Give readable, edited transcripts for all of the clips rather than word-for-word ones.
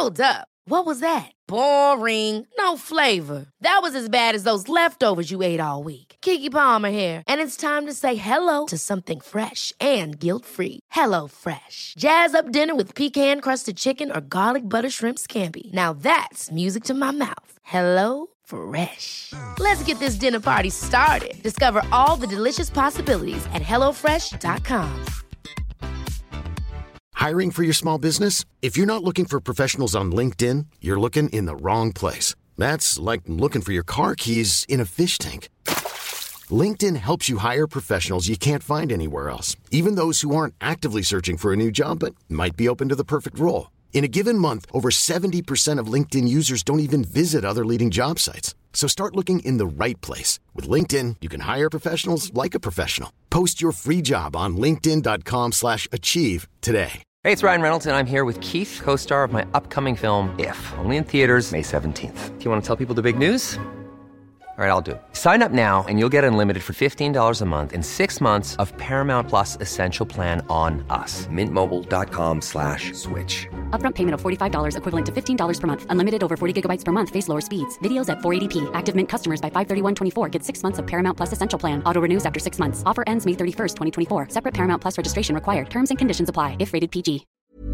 Hold up. What was that? Boring. No flavor. That was as bad as those leftovers you ate all week. Keke Palmer here, and it's time to say hello to something fresh and guilt-free. Hello Fresh. Jazz up dinner with pecan-crusted chicken or garlic butter shrimp scampi. Now that's music to my mouth. Hello Fresh. Let's get this dinner party started. Discover all the delicious possibilities at hellofresh.com. Hiring for your small business? If you're not looking for professionals on LinkedIn, you're looking in the wrong place. That's like looking for your car keys in a fish tank. LinkedIn helps you hire professionals you can't find anywhere else, even those who aren't actively searching for a new job but might be open to the perfect role. In a given month, over 70% of LinkedIn users don't even visit other leading job sites. So start looking in the right place. With LinkedIn, you can hire professionals like a professional. Post your free job on linkedin.com/achieve today. Hey, it's Ryan Reynolds, and I'm here with Keith, co-star of my upcoming film, If, only in theaters May 17th. Do you want to tell people the big news? All right, I'll do it. Sign up now and you'll get unlimited for $15 a month and 6 months of Paramount Plus Essential Plan on us. MintMobile.com/switch. Upfront payment of $45 equivalent to $15 per month. Unlimited over 40 gigabytes per month. Face lower speeds. Videos at 480p. Active Mint customers by 531.24 get 6 months of Paramount Plus Essential Plan. Auto renews after 6 months. Offer ends May 31st, 2024. Separate Paramount Plus registration required. Terms and conditions apply if rated PG.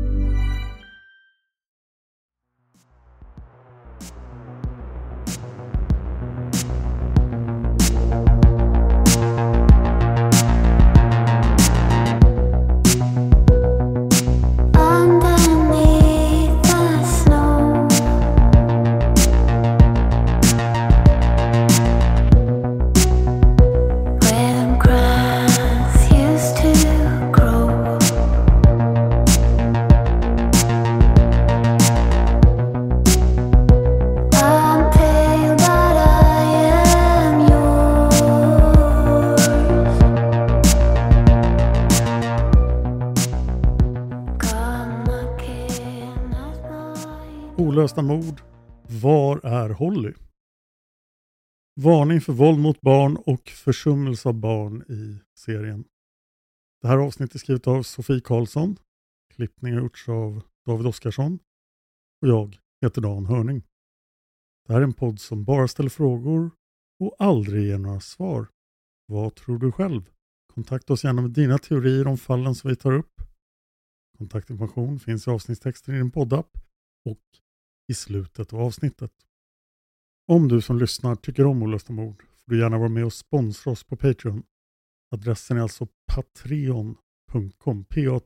Olösta mord. Var är Holly? Varning för våld mot barn och försummelse av barn i serien. Det här avsnittet är skrivet av Sofie Karlsson. Klippning har gjorts av David Oskarsson. Och jag heter Dan Hörning. Det här är en podd som bara ställer frågor och aldrig ger några svar. Vad tror du själv? Kontakta oss gärna med dina teorier om fallen som vi tar upp. Kontaktinformation finns i avsnittstexten i din poddapp och i slutet av avsnittet. Om du som lyssnar tycker om Olösta mord får du gärna vara med och sponsra oss på Patreon. Adressen är alltså patreon.com,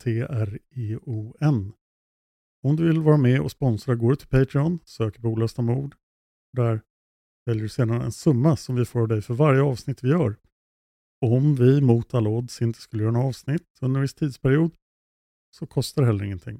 Patreon. Om du vill vara med och sponsra går du till Patreon, söker på Olösta mord. Där väljer du sedan en summa som vi får av dig för varje avsnitt vi gör. Och om vi mot all odds inte skulle göra en avsnitt under en viss tidsperiod så kostar det heller ingenting.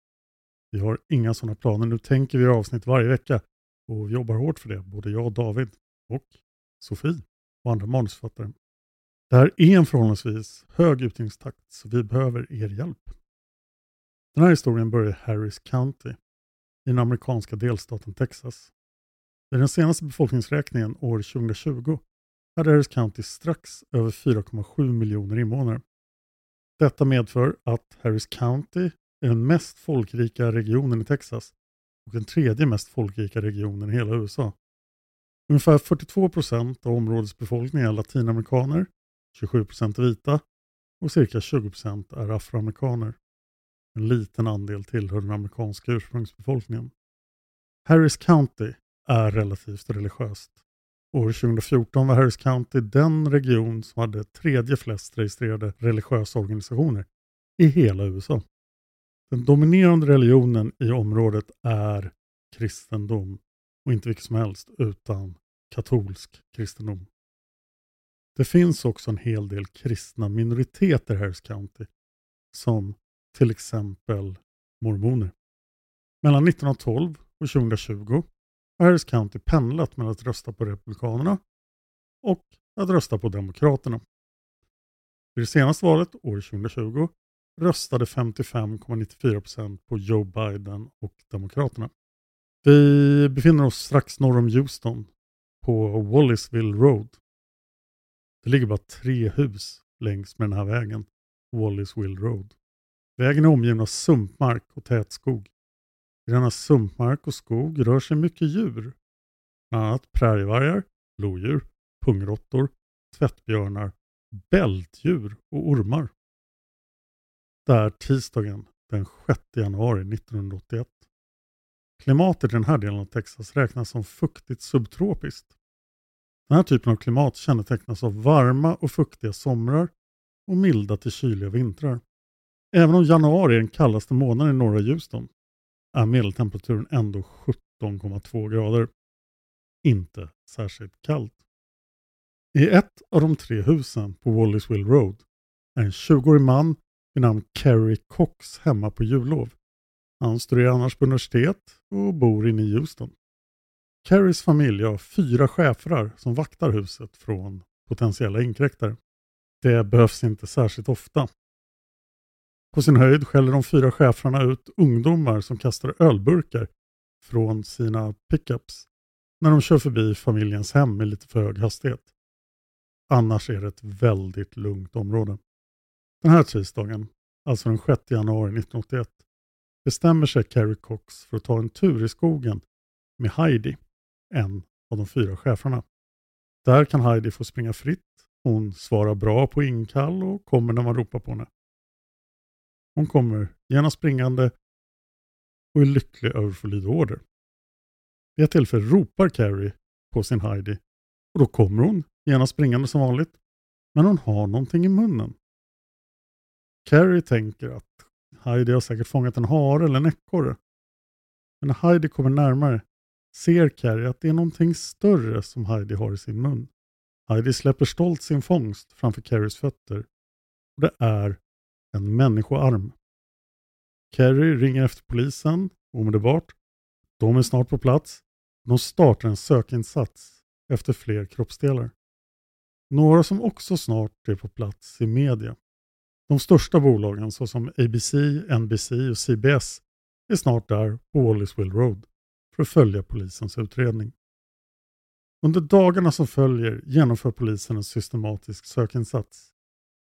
Vi har inga sådana planer. Nu tänker vi göra avsnitt varje vecka och jobbar hårt för det. Både jag, David och Sofie och andra manusförfattare. Det här är en förhållandevis hög utgivningstakt så vi behöver er hjälp. Den här historien börjar i Harris County i den amerikanska delstaten Texas. I den senaste befolkningsräkningen år 2020 hade Harris County strax över 4,7 miljoner invånare. Detta medför att Harris County är den mest folkrika regionen i Texas och den tredje mest folkrika regionen i hela USA. Ungefär 42% av områdets befolkning är latinamerikaner, 27% är vita och cirka 20% är afroamerikaner. En liten andel tillhör den amerikanska ursprungsbefolkningen. Harris County är relativt religiöst. År 2014 var Harris County den region som hade tredje flest registrerade religiösa organisationer i hela USA. Den dominerande religionen i området är kristendom och inte vilket som helst utan katolsk kristendom. Det finns också en hel del kristna minoriteter i Harris County som till exempel mormoner. Mellan 1912 och 2020 har Harris County pendlat mellan att rösta på Republikanerna och att rösta på Demokraterna. Vid det senaste valet, år 2020, röstade 55,94% på Joe Biden och Demokraterna. Vi befinner oss strax norr om Houston på Wallaceville Road. Det ligger bara 3 hus längs med den här vägen, Wallaceville Road. Vägen är omgiven av sumpmark och tät skog. I denna sumpmark och skog rör sig mycket djur. Bland annat prärievargar, lodjur, pungråttor, tvättbjörnar, bältdjur och ormar. Det är tisdagen den 6 januari 1981. Klimatet i den här delen av Texas räknas som fuktigt subtropiskt. Den här typen av klimat kännetecknas av varma och fuktiga somrar och milda till kyliga vintrar. Även om januari är den kallaste månaden i norra Houston är medeltemperaturen ändå 17,2 grader. Inte särskilt kallt. I ett av de 3 husen på Wallaceville Road är en 20-årig man vid namn Kerry Cox hemma på jullov. Han studerar annars på universitet och bor inne i Houston. Kerrys familj har 4 schäfrar som vaktar huset från potentiella inkräktare. Det behövs inte särskilt ofta. På sin höjd skäller de 4 schäfrarna ut ungdomar som kastar ölburkar från sina pickups när de kör förbi familjens hem med lite för hög hastighet. Annars är det ett väldigt lugnt område. Den här tisdagen, alltså den 6 januari 1981, bestämmer sig Kerry Cox för att ta en tur i skogen med Heidi, en av de 4 schäfrarna. Där kan Heidi få springa fritt. Hon svarar bra på inkall och kommer när man ropar på henne. Hon kommer genast springande och är lycklig över att få lyda order. Vid ett tillfälle ropar Kerry på sin Heidi och då kommer hon genast springande som vanligt, men hon har någonting i munnen. Kerry tänker att Heidi har säkert fångat en hare eller en ekorre. Men när Heidi kommer närmare ser Kerry att det är någonting större som Heidi har i sin mun. Heidi släpper stolt sin fångst framför Kerrys fötter och det är en människoarm. Kerry ringer efter polisen omedelbart. De är snart på plats. De startar en sökinsats efter fler kroppsdelar. Några som också snart är på plats i media. De största bolagen såsom ABC, NBC och CBS är snart där på Wallaceville Road för att följa polisens utredning. Under dagarna som följer genomför polisen en systematisk sökinsats.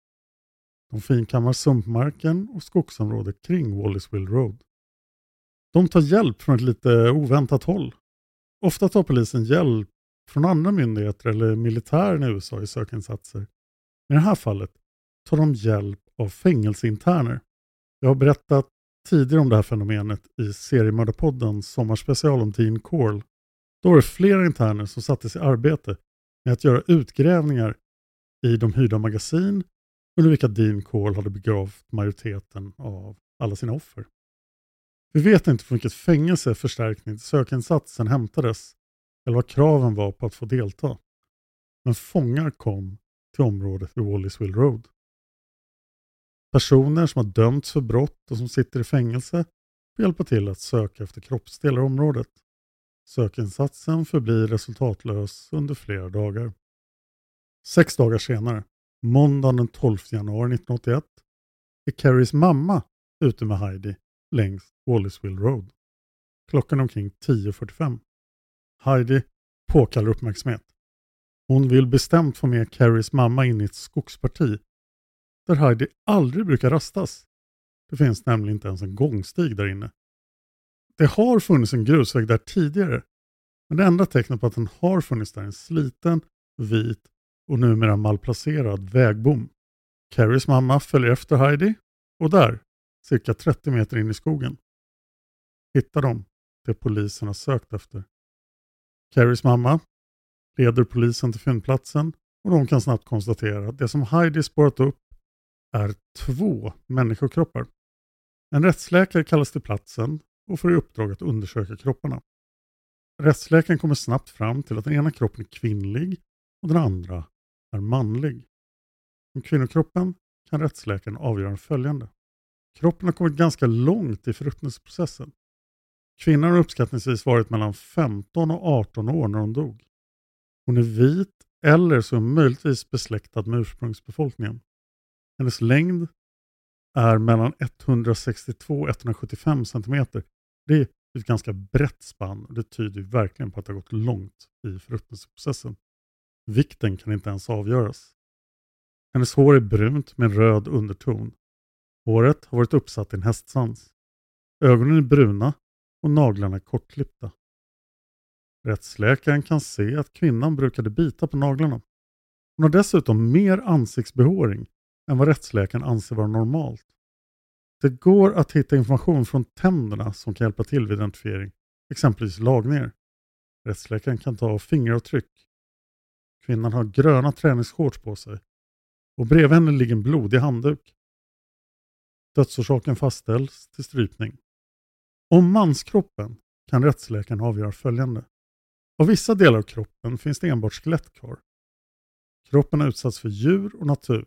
De finkammar sumpmarken och skogsområdet kring Wallaceville Road. De tar hjälp från ett lite oväntat håll. Ofta tar polisen hjälp från andra myndigheter eller militären i USA i sökinsatser. I det här fallet tar de hjälp av fängelseinterner. Jag har berättat tidigare om det här fenomenet i seriemördarpoddens sommarspecial om Dean Corll. Då var det flera interner som sattes i arbete med att göra utgrävningar i de hyrda magasin under vilka Dean Corll hade begravt majoriteten av alla sina offer. Vi vet inte från vilket fängelse förstärkning till sökinsatsen hämtades eller vad kraven var på att få delta. Men fångar kom till området vid Wallaceville Road. Personer som har dömts för brott och som sitter i fängelse får hjälpa till att söka efter kroppsdelar i området. Sökinsatsen förblir resultatlös under flera dagar. 6 dagar senare, måndagen den 12 januari 1981, är Kerrys mamma ute med Heidi längs Wallaceville Road. Klockan omkring 10:45. Heidi påkallar uppmärksamhet. Hon vill bestämt få med Kerrys mamma in i ett skogsparti där Heidi aldrig brukar rastas. Det finns nämligen inte ens en gångstig där inne. Det har funnits en grusväg där tidigare, men det enda tecknet på att den har funnits där är en sliten, vit och numera malplacerad vägbom. Kerrys mamma följer efter Heidi och där, cirka 30 meter in i skogen, hittar de det polisen har sökt efter. Kerrys mamma leder polisen till fyndplatsen och de kan snabbt konstatera att det som Heidi spårat upp är 2 människokroppar. En rättsläkare kallas till platsen och får i uppdrag att undersöka kropparna. Rättsläkaren kommer snabbt fram till att den ena kroppen är kvinnlig och den andra är manlig. Om kvinnokroppen kan rättsläkaren avgöra följande. Kroppen har kommit ganska långt i förruttnelseprocessen. Kvinnan har uppskattningsvis varit mellan 15 och 18 år när hon dog. Hon är vit eller så möjligtvis besläktad med ursprungsbefolkningen. Hennes längd är mellan 162 och 175 cm. Det är ett ganska brett spann och det tyder verkligen på att det har gått långt i förruttnelseprocessen. Vikten kan inte ens avgöras. Hennes hår är brunt med röd underton. Håret har varit uppsatt i en hästsvans. Ögonen är bruna och naglarna är kortklippta. Rättsläkaren kan se att kvinnan brukade bita på naglarna. Hon har dessutom mer ansiktsbehåring än vad rättsläkaren anser vara normalt. Det går att hitta information från tänderna som kan hjälpa till vid identifiering, exempelvis lagningar. Rättsläkaren kan ta fingeravtryck. Kvinnan har gröna träningsshorts på sig och bredvid henne ligger en blodig handduk. Dödsorsaken fastställs till strypning. Om manskroppen kan rättsläkaren avgöra följande. Av vissa delar av kroppen finns det enbart skelett kvar. Kroppen har utsatts för djur och natur.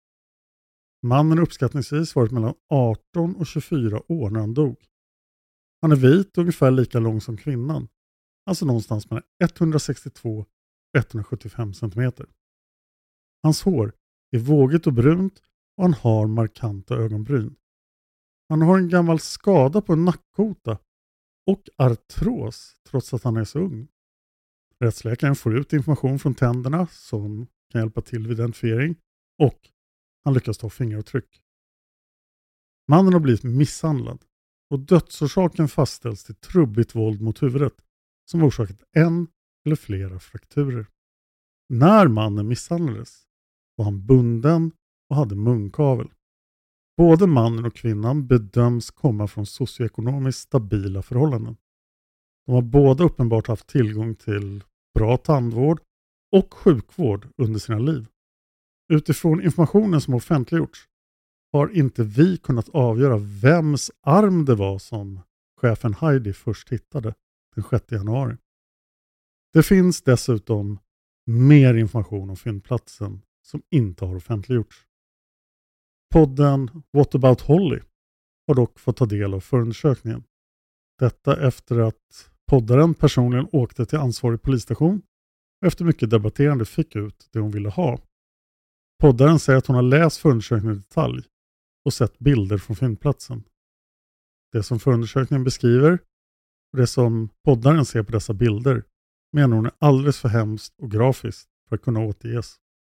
Mannen uppskattningsvis varit mellan 18 och 24 år när han dog. Han är vit och ungefär lika lång som kvinnan. Alltså någonstans mellan 162 och 175 cm. Hans hår är vågigt och brunt och han har markanta ögonbryn. Han har en gammal skada på en nackkota och artros trots att han är så ung. Rättsläkaren får ut information från tänderna som kan hjälpa till vid identifiering och han lyckas ta fingeravtryck. Mannen har blivit misshandlad och dödsorsaken fastställs till trubbigt våld mot huvudet som orsakat en eller flera frakturer. När mannen misshandlades var han bunden och hade munkavel. Både mannen och kvinnan bedöms komma från socioekonomiskt stabila förhållanden. De har båda uppenbart haft tillgång till bra tandvård och sjukvård under sina liv. Utifrån informationen som offentliggjorts har inte vi kunnat avgöra vems arm det var som chefen Heidi först hittade den 6 januari. Det finns dessutom mer information om fyndplatsen som inte har offentliggjorts. Podden What About Holly har dock fått ta del av förundersökningen. Detta efter att poddaren personligen åkte till ansvarig polisstation och efter mycket debatterande fick ut det hon ville ha. Poddaren säger att hon har läst förundersökningen i detalj och sett bilder från fyndplatsen. Det som förundersökningen beskriver och det som poddaren ser på dessa bilder menar hon är alldeles för hemskt och grafiskt för att kunna återges.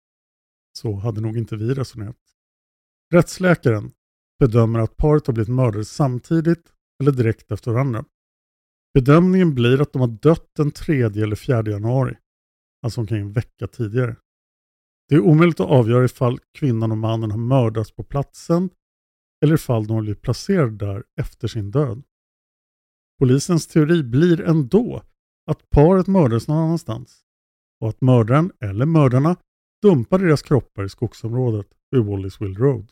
Så hade nog inte vi resonerat. Rättsläkaren bedömer att paret har blivit mördade samtidigt eller direkt efter varandra. Bedömningen blir att de har dött den 3 eller 4 januari, alltså omkring en vecka tidigare. Det är omöjligt att avgöra ifall kvinnan och mannen har mördats på platsen eller ifall de har blivit placerade där efter sin död. Polisens teori blir ändå att paret mördades någon annanstans och att mördaren eller mördarna dumpade deras kroppar i skogsområdet vid Wallisville Road.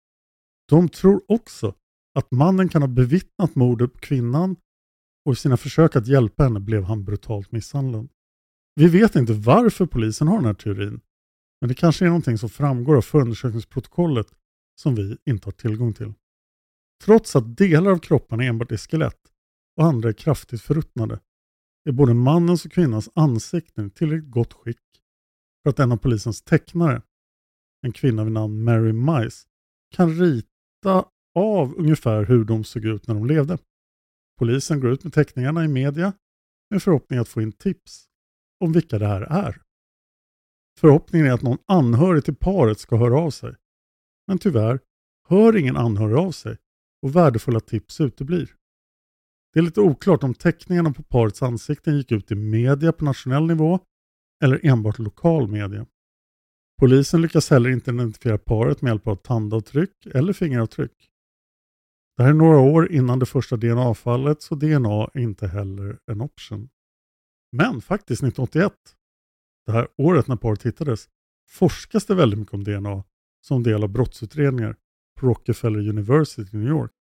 De tror också att mannen kan ha bevittnat mordet på kvinnan och i sina försök att hjälpa henne blev han brutalt misshandlad. Vi vet inte varför polisen har den här teorin, men det kanske är någonting som framgår av förundersökningsprotokollet som vi inte har tillgång till. Trots att delar av kroppen enbart är skelett och andra är kraftigt förruttnade är både mannens och kvinnans ansikten i tillräckligt gott skick för att en av polisens tecknare, en kvinna vid namn Mary Mice, kan rita av ungefär hur de såg ut när de levde. Polisen går ut med teckningarna i media med förhoppning att få in tips om vilka det här är. Förhoppningen är att någon anhörig till paret ska höra av sig. Men tyvärr hör ingen anhörig av sig och värdefulla tips uteblir. Det är lite oklart om teckningarna på parets ansikten gick ut i media på nationell nivå eller enbart lokal media. Polisen lyckas heller inte identifiera paret med hjälp av tandavtryck eller fingeravtryck. Det här är några år innan det första DNA-fallet så DNA är inte heller en option. Men faktiskt 1981, det här året när paret hittades, forskas det väldigt mycket om DNA som del av brottsutredningar på Rockefeller University i New York.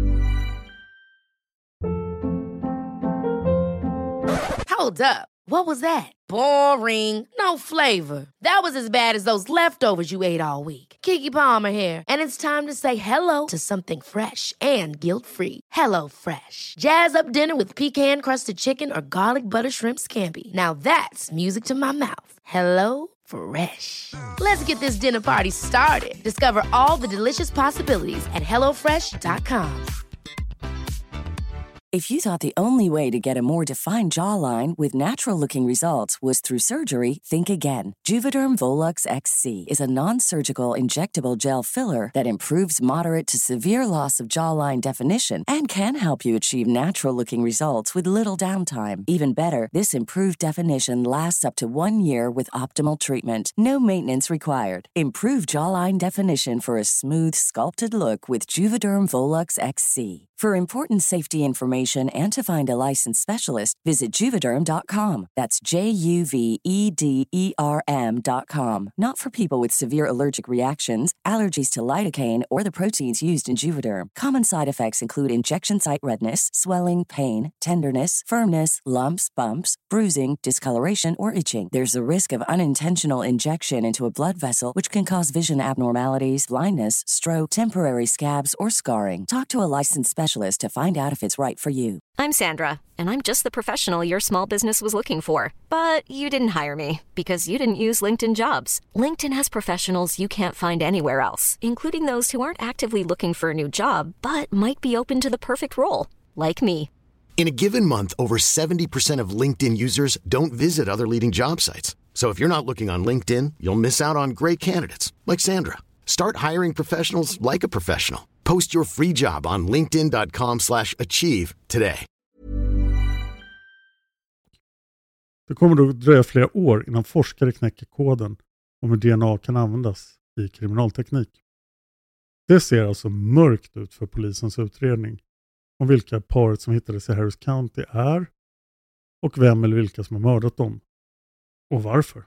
Hold up. What was that? Boring. No flavor. That was as bad as those leftovers you ate all week. Keke Palmer here, and it's time to say hello to something fresh and guilt-free. Hello Fresh. Jazz up dinner with pecan-crusted chicken or garlic butter shrimp scampi. Now that's music to my mouth. Hello Fresh. Let's get this dinner party started. Discover all the delicious possibilities at hellofresh.com. If you thought the only way to get a more defined jawline with natural-looking results was through surgery, think again. Juvederm Volux XC is a non-surgical injectable gel filler that improves moderate to severe loss of jawline definition and can help you achieve natural-looking results with little downtime. Even better, this improved definition lasts up to 1 year with optimal treatment. No maintenance required. Improve jawline definition for a smooth, sculpted look with Juvederm Volux XC. For important safety information and to find a licensed specialist, visit Juvederm.com. That's Juvederm.com. Not for people with severe allergic reactions, allergies to lidocaine, or the proteins used in Juvederm. Common side effects include injection site redness, swelling, pain, tenderness, firmness, lumps, bumps, bruising, discoloration, or itching. There's a risk of unintentional injection into a blood vessel, which can cause vision abnormalities, blindness, stroke, temporary scabs, or scarring. Talk to a licensed specialist to find out if it's right for you. I'm Sandra, and I'm just the professional your small business was looking for. But you didn't hire me because you didn't use LinkedIn Jobs. LinkedIn has professionals you can't find anywhere else, including those who aren't actively looking for a new job, but might be open to the perfect role, like me. In a given month, over 70% of LinkedIn users don't visit other leading job sites. So if you're not looking on LinkedIn, you'll miss out on great candidates like Sandra. Start hiring professionals like a professional. Post your free job on linkedin.com/achieve today. Det kommer då dröja flera år innan forskare knäcker koden om hur DNA kan användas i kriminalteknik. Det ser alltså mörkt ut för polisens utredning om vilka paret som hittades i Harris County är och vem eller vilka som har mördat dem och varför.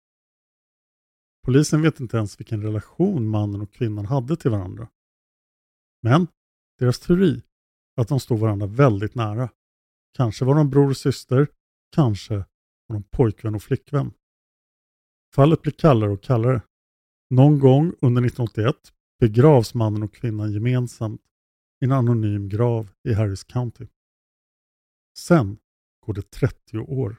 Polisen vet inte ens vilken relation mannen och kvinnan hade till varandra. Men deras teori att de stod varandra väldigt nära. Kanske var de bror och syster, kanske var de pojkvän och flickvän. Fallet blir kallare och kallare. Någon gång under 1981 begravs mannen och kvinnan gemensamt i en anonym grav i Harris County. Sen går det 30 år.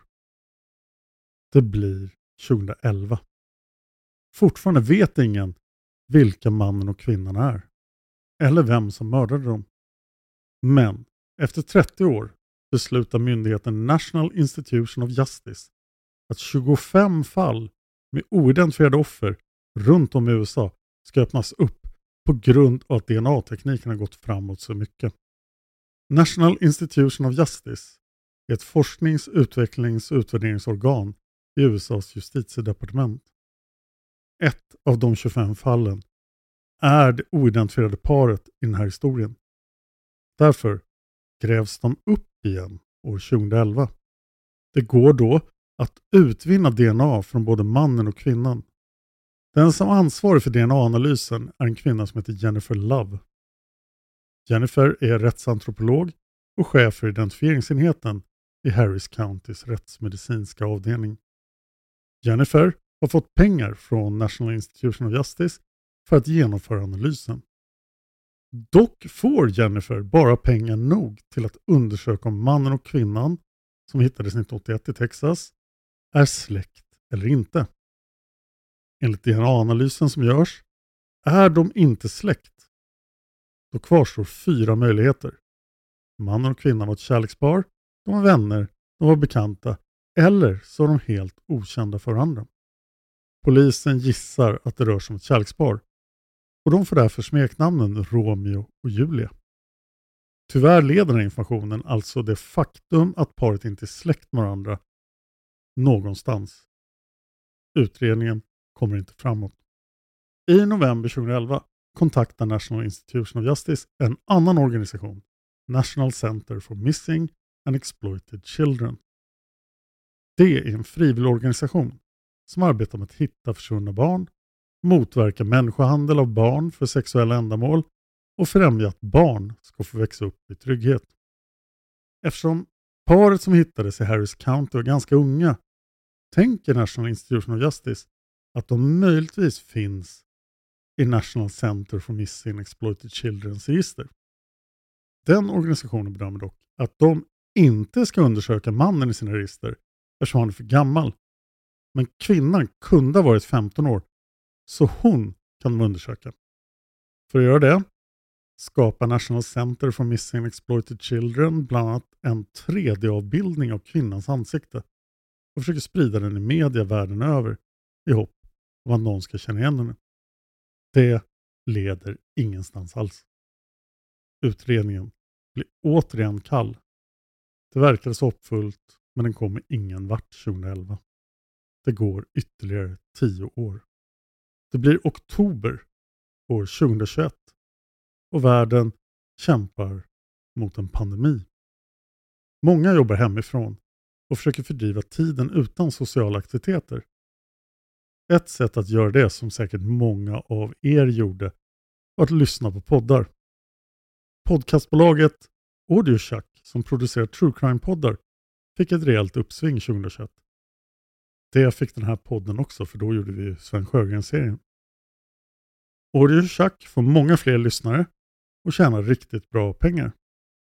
Det blir 2011. Fortfarande vet ingen vilka mannen och kvinnan är. Eller vem som mördade dem. Men efter 30 år beslutar myndigheten National Institution of Justice att 25 fall med oidentifierade offer runt om i USA ska öppnas upp på grund av att DNA-tekniken har gått framåt så mycket. National Institution of Justice är ett forsknings-, utvecklings- och utvärderingsorgan i USAs justitiedepartement. Ett av de 25 fallen är det oidentifierade paret i den här historien. Därför grävs de upp igen år 2011. Det går då att utvinna DNA från både mannen och kvinnan. Den som ansvarar för DNA-analysen är en kvinna som heter Jennifer Love. Jennifer är rättsantropolog och chef för identifieringsenheten i Harris Countys rättsmedicinska avdelning. Jennifer har fått pengar från National Institution of Justice för att genomföra analysen. Dock får Jennifer bara pengar nog till att undersöka om mannen och kvinnan som hittades 1981 i Texas är släkt eller inte. Enligt DNA-analysen som görs är de inte släkt. Då kvarstår 4 möjligheter. Mannen och kvinnan var ett kärlekspar, de var vänner, de var bekanta eller så är de helt okända för varandra. Polisen gissar att det rör sig om ett kärlekspar och de får därför smeknamnen Romeo och Julia. Tyvärr leder den här informationen, alltså det faktum att paret inte är släkt med varandra, någonstans. Utredningen kommer inte framåt. I november 2011 kontaktar National Institution of Justice en annan organisation, National Center for Missing and Exploited Children. Det är en frivillig organisation som arbetar med att hitta försvunna barn, motverka människohandel av barn för sexuella ändamål och främja att barn ska få växa upp i trygghet. Eftersom paret som hittades i Harris County var ganska unga tänker National Institution of Justice att de möjligtvis finns i National Center for Missing and Exploited Children's register. Den organisationen bedömer dock att de inte ska undersöka mannen i sina register eftersom han är för gammal. Men kvinnan kunde ha varit 15 år så hon kan de undersöka. För att göra det skapa National Center for Missing and Exploited Children, bland annat en 3D-avbildning av kvinnans ansikte, och försöker sprida den i media världen över i hopp om att någon ska känna igen henne. Det leder ingenstans alls. Utredningen blir återigen kall. Det verkade så hoppfullt, men den kommer ingen vart 2011. Det går ytterligare 10 år. Det blir oktober år 2021 och världen kämpar mot en pandemi. Många jobbar hemifrån och försöker fördriva tiden utan sociala aktiviteter. Ett sätt att göra det, som säkert många av er gjorde, var att lyssna på poddar. Podcastbolaget AudioShack, som producerar True Crime-poddar, fick ett rejält uppsving 2021. Det fick den här podden också, för då gjorde vi Sven Sjögren-serien. AudioShack får många fler lyssnare och tjänar riktigt bra pengar.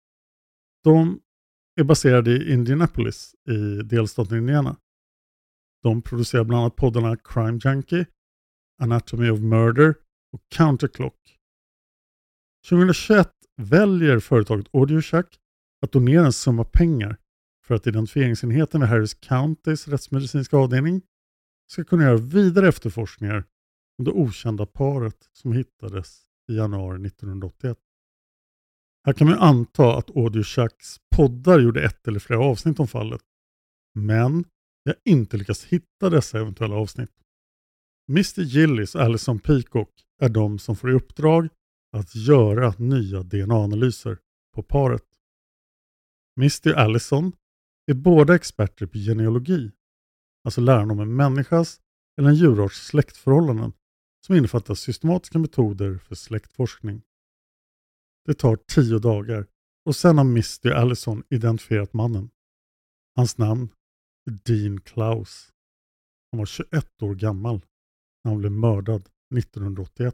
De är baserade i Indianapolis i delstaten Indiana. De producerar bland annat poddarna Crime Junkie, Anatomy of Murder och Counterclock. 2021 väljer företaget AudioShack att donera en summa pengar för att identifieringsenheten vid Harris Countys rättsmedicinska avdelning ska kunna göra vidare efterforskningar om det okända paret som hittades i januari 1981. Här kan man anta att AudioShacks poddar gjorde ett eller flera avsnitt om fallet, men jag har inte lyckats hitta dessa eventuella avsnitt. Mr. Gillis och Alison Peacock är de som får i uppdrag att göra nya DNA-analyser på paret. Mr. Allison är båda experter på genealogi, alltså läran om en människas eller en djurarts släktförhållanden, som innefattar systematiska metoder för släktforskning. Det tar 10 dagar och sen har Mr. Allison identifierat mannen. Hans namn är Dean Klaus. Han var 21 år gammal när han blev mördad 1981.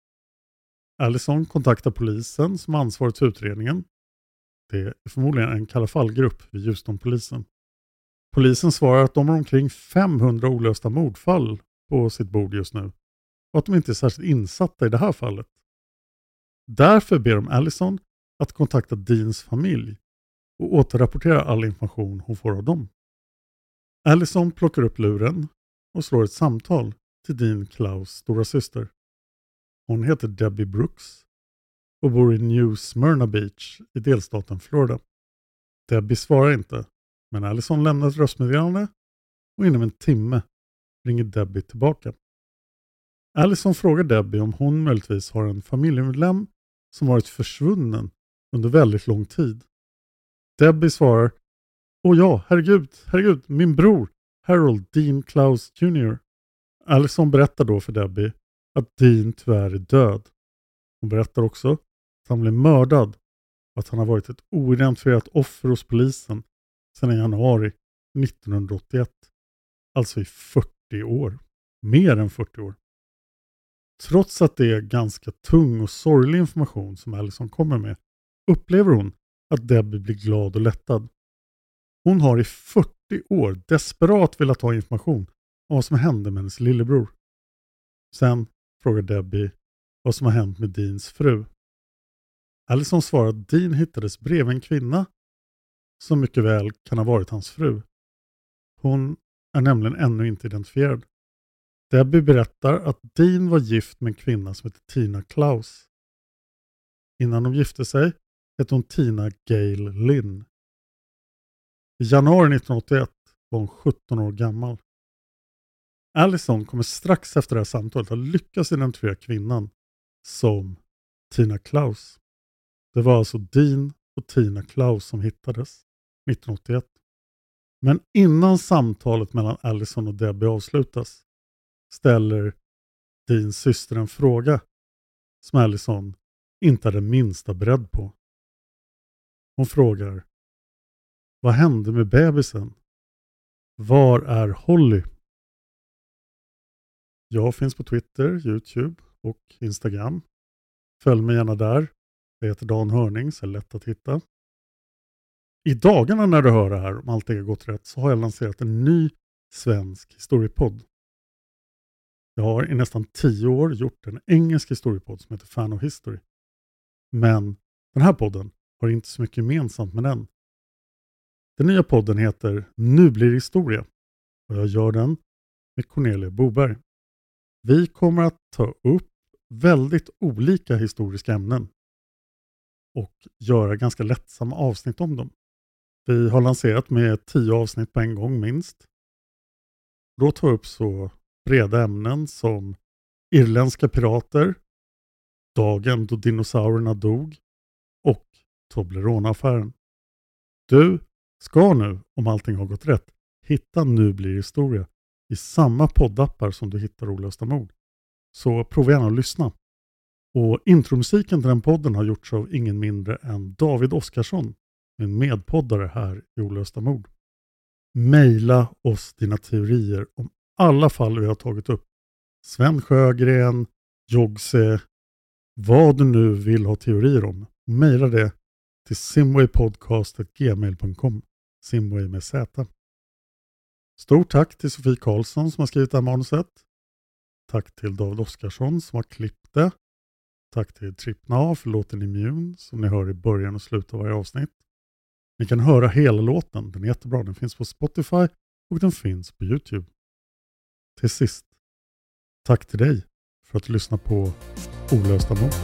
Allison kontaktar polisen som ansvarig för utredningen. Det är förmodligen en kalla fallgrupp vid Houston-polisen. Polisen svarar att de har omkring 500 olösta mordfall på sitt bord just nu och att de inte är särskilt insatta i det här fallet. Därför ber de Allison att kontakta Deans familj och återrapportera all information hon får av dem. Allison plockar upp luren och slår ett samtal till Dean Klaus stora syster. Hon heter Debbie Brooks och bor i New Smyrna Beach i delstaten Florida. Debbie svarar inte, men Allison lämnar ett röstmeddelande och inom en timme ringer Debbie tillbaka. Allison frågar Debbie om hon möjligtvis har en familjemedlem som varit försvunnen under väldigt lång tid. Debbie svarar: "Åh ja, herregud, min bror, Harold Dean Klaus Jr." Allison berättar då för Debbie att Dean tyvärr är död. Hon berättar också att han blev mördad och att han har varit ett oidentifierat offer hos polisen sedan januari 1981. Alltså i 40 år. Mer än 40 år. Trots att det är ganska tung och sorglig information som Allison kommer med, upplever hon att Debbie blir glad och lättad. Hon har i 40 år desperat velat ha information om vad som hände med hennes lillebror. Sen frågar Debbie vad som har hänt med Deans fru. Allison svarar att Dean hittades bredvid en kvinna som mycket väl kan ha varit hans fru. Hon är nämligen ännu inte identifierad. Debbie berättar att Dean var gift med en kvinna som heter Tina Klaus. Innan de gifte sig hette hon Tina Gail Lynn. I januari 1981 var hon 17 år gammal. Allison kommer strax efter det här samtalet att lyckas identifiera kvinnan som Tina Klaus. Det var alltså Dean och Tina Klaus som hittades 1981. Men innan samtalet mellan Allison och Debbie avslutas ställer Deans syster en fråga som Allison inte är den minsta beredd på. Hon frågar: "Vad hände med bebisen? Var är Holly?" Jag finns på Twitter, YouTube och Instagram. Följ mig gärna där. Jag heter Dan Hörning, så är det lätt att hitta. I dagarna när du hör det här, om allt har gått rätt, så har jag lanserat en ny svensk historiepodd. Jag har i nästan 10 år gjort en engelsk historiepodd som heter Fan of History. Men den här podden har inte så mycket gemensamt med den. Den nya podden heter Nu blir det historia och jag gör den med Cornelia Boberg. Vi kommer att ta upp väldigt olika historiska ämnen och göra ganska lättsamma avsnitt om dem. Vi har lanserat med 10 avsnitt på en gång minst. Då tar upp så breda ämnen som irländska pirater, dagen då dinosaurierna dog och Toblerone-affären. Du ska nu, om allting har gått rätt, hitta Nu blir det historia i samma poddappar som du hittar Olösta mord. Så prova gärna att lyssna. Och intromusiken till den podden har gjorts av ingen mindre än David Oskarsson, min medpoddare här i Olösta mord. Maila oss dina teorier om alla fall vi har tagit upp. Sven Sjögren, Jogse, vad du nu vill ha teorier om. Maila det till simwaypodcast@gmail.com. Simway med Z. Stort tack till Sofie Karlsson som har skrivit det här manuset. Tack till David Oskarsson som har klippt det. Tack till Trippna för låten Immune som ni hör i början och slutet av varje avsnitt. Ni kan höra hela låten, den är jättebra. Den finns på Spotify och den finns på YouTube. Till sist, tack till dig för att du lyssnar på Olösta mord.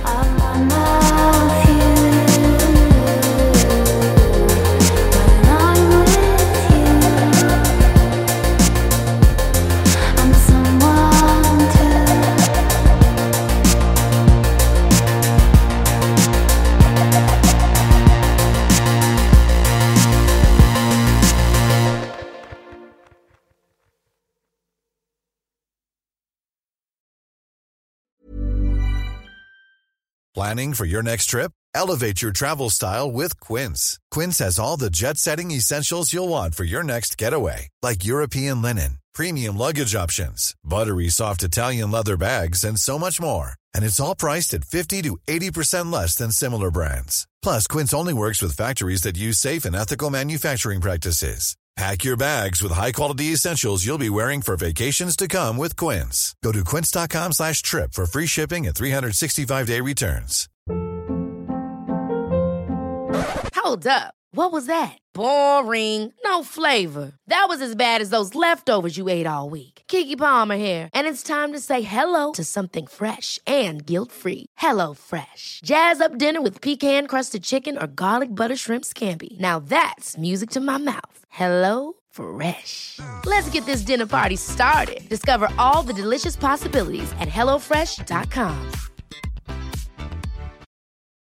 Planning for your next trip? Elevate your travel style with Quince. Quince has all the jet-setting essentials you'll want for your next getaway, like European linen, premium luggage options, buttery soft Italian leather bags, and so much more. And it's all priced at 50 to 80% less than similar brands. Plus, Quince only works with factories that use safe and ethical manufacturing practices. Pack your bags with high-quality essentials you'll be wearing for vacations to come with Quince. Go to quince.com/trip for free shipping and 365-day returns. Hold up. What was that? Boring. No flavor. That was as bad as those leftovers you ate all week. Keke Palmer here, and it's time to say hello to something fresh and guilt-free. Hello Fresh. Jazz up dinner with pecan-crusted chicken or garlic butter shrimp scampi. Now that's music to my mouth. Hello Fresh. Let's get this dinner party started. Discover all the delicious possibilities at hellofresh.com.